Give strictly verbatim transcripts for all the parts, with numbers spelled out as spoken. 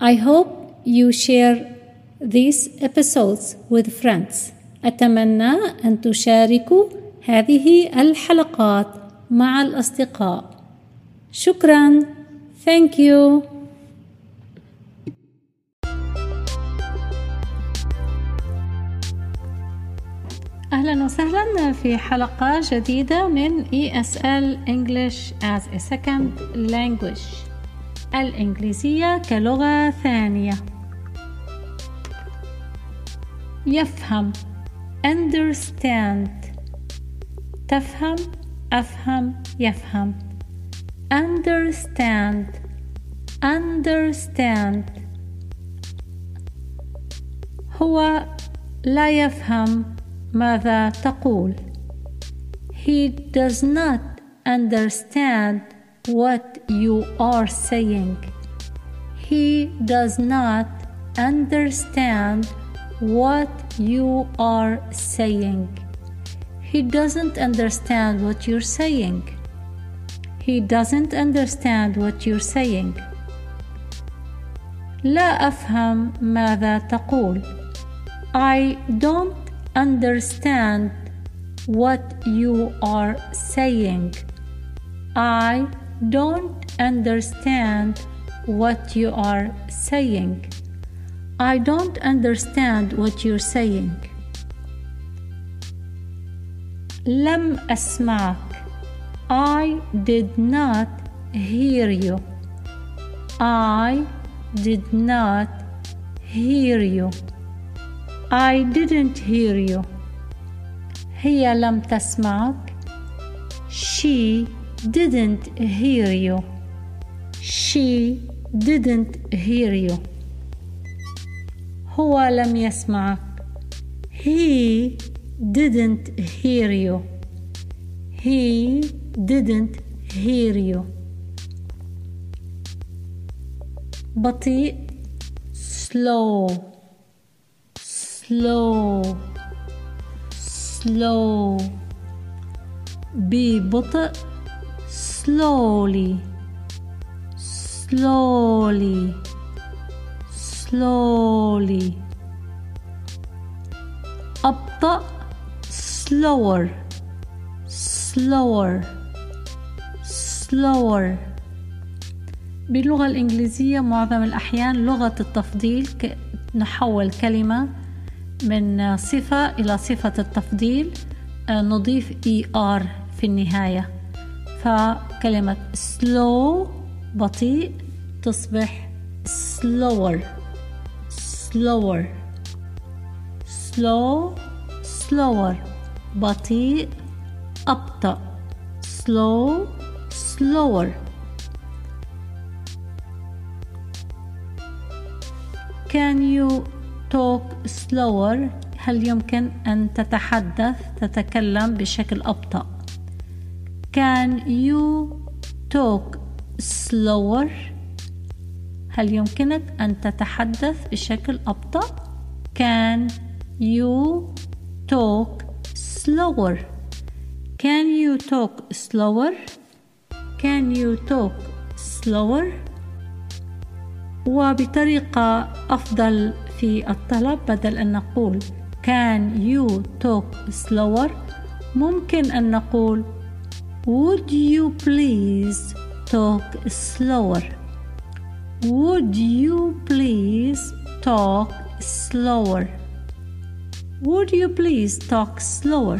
I hope you share these episodes with friends. أتمنى أن تشاركوا هذه الحلقات مع الأصدقاء. شكراً. Thank you. أهلاً وسهلاً في حلقة جديدة من إي إس إل English as a Second Language. الإنجليزية كلغة ثانية. يفهم understand. تفهم أفهم يفهم. understand understand. هو لا يفهم ماذا تقول. He does not understand what you are saying. He does not understand what you are saying. He doesn't understand what you're saying. He doesn't understand what you're saying. لا أفهم ماذا تقول. I don't understand what you are saying. I don't understand what you are saying. I don't understand what you're saying. لم أسمعك. I did not hear you. I did not hear you. I didn't hear you. هي لم تسمعك. She didn't hear you. She didn't hear you. هو لم يسمعك. He didn't hear you. He didn't hear you. بطيء slow slow slow. ببطء slowly slowly slowly. أبطأ slower slower slower. باللغة الإنجليزية معظم الأحيان لغة التفضيل ك... نحول كلمة من صفة إلى صفة التفضيل نضيف er في النهاية، فكلمة slow بطيء تصبح slower slower slow slower. بطيء أبطأ slow slower. Can you talk slower؟ هل يمكن أن تتحدث تتكلم بشكل أبطأ؟ Can you talk slower؟ هل يمكنك أن تتحدث بشكل أبطأ؟ Can you talk slower؟ Can you talk slower؟ Can you talk slower؟ وبطريقة أفضل في الطلب بدل أن نقول Can you talk slower؟ ممكن أن نقول Would you please talk slower؟ Would you please talk slower؟ Would you please talk slower؟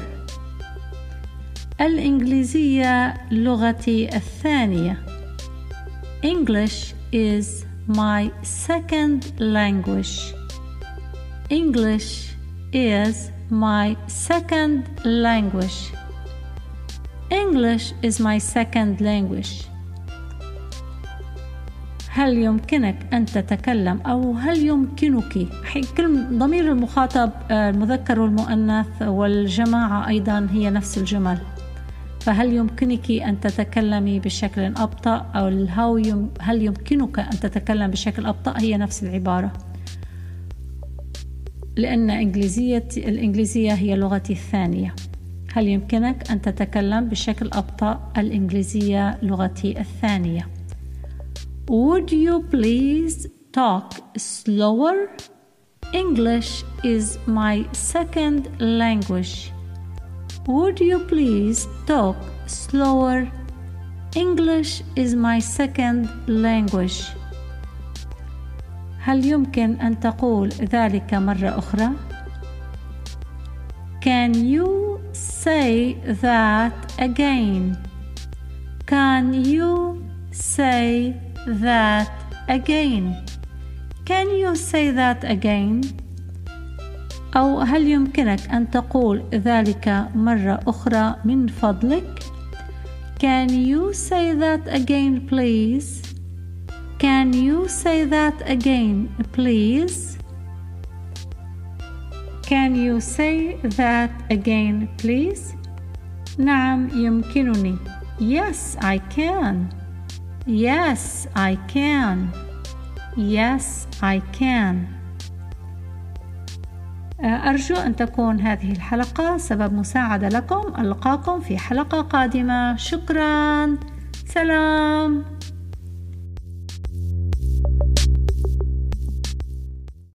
الإنجليزية لغتي الثانية. English is my second language. English is my second language. English is my second language. هل يمكنك أن تتكلم أو هل يمكنك؟ كلمة ضمير المخاطب المذكر والمؤنث والجماعة أيضا هي نفس الجمل، فهل يمكنك أن تتكلمي بشكل أبطأ أو هل يمكنك أن تتكلم بشكل أبطأ هي نفس العبارة، لأن إنجليزية الإنجليزية هي لغتي الثانية. هل يمكنك أن تتكلم بشكل أبطأ؟ الإنجليزية لغتي الثانية. Would you please talk slower? English is my second language. Would you please talk slower? English is my second language. هل يمكن أن تقول ذلك مرة أخرى؟ Can you say that again? Can you say that again? Can you say that again? أو هل يمكنك أن تقول ذلك مرة أخرى من فضلك؟ Can you say that again, please? Can you say that again, please? Can you say that again, please? نعم يمكنني. Yes, I can. Yes, I can. Yes, I can. أرجو أن تكون هذه الحلقة سبب مساعدة لكم. ألقاكم في حلقة قادمة. شكرا. سلام.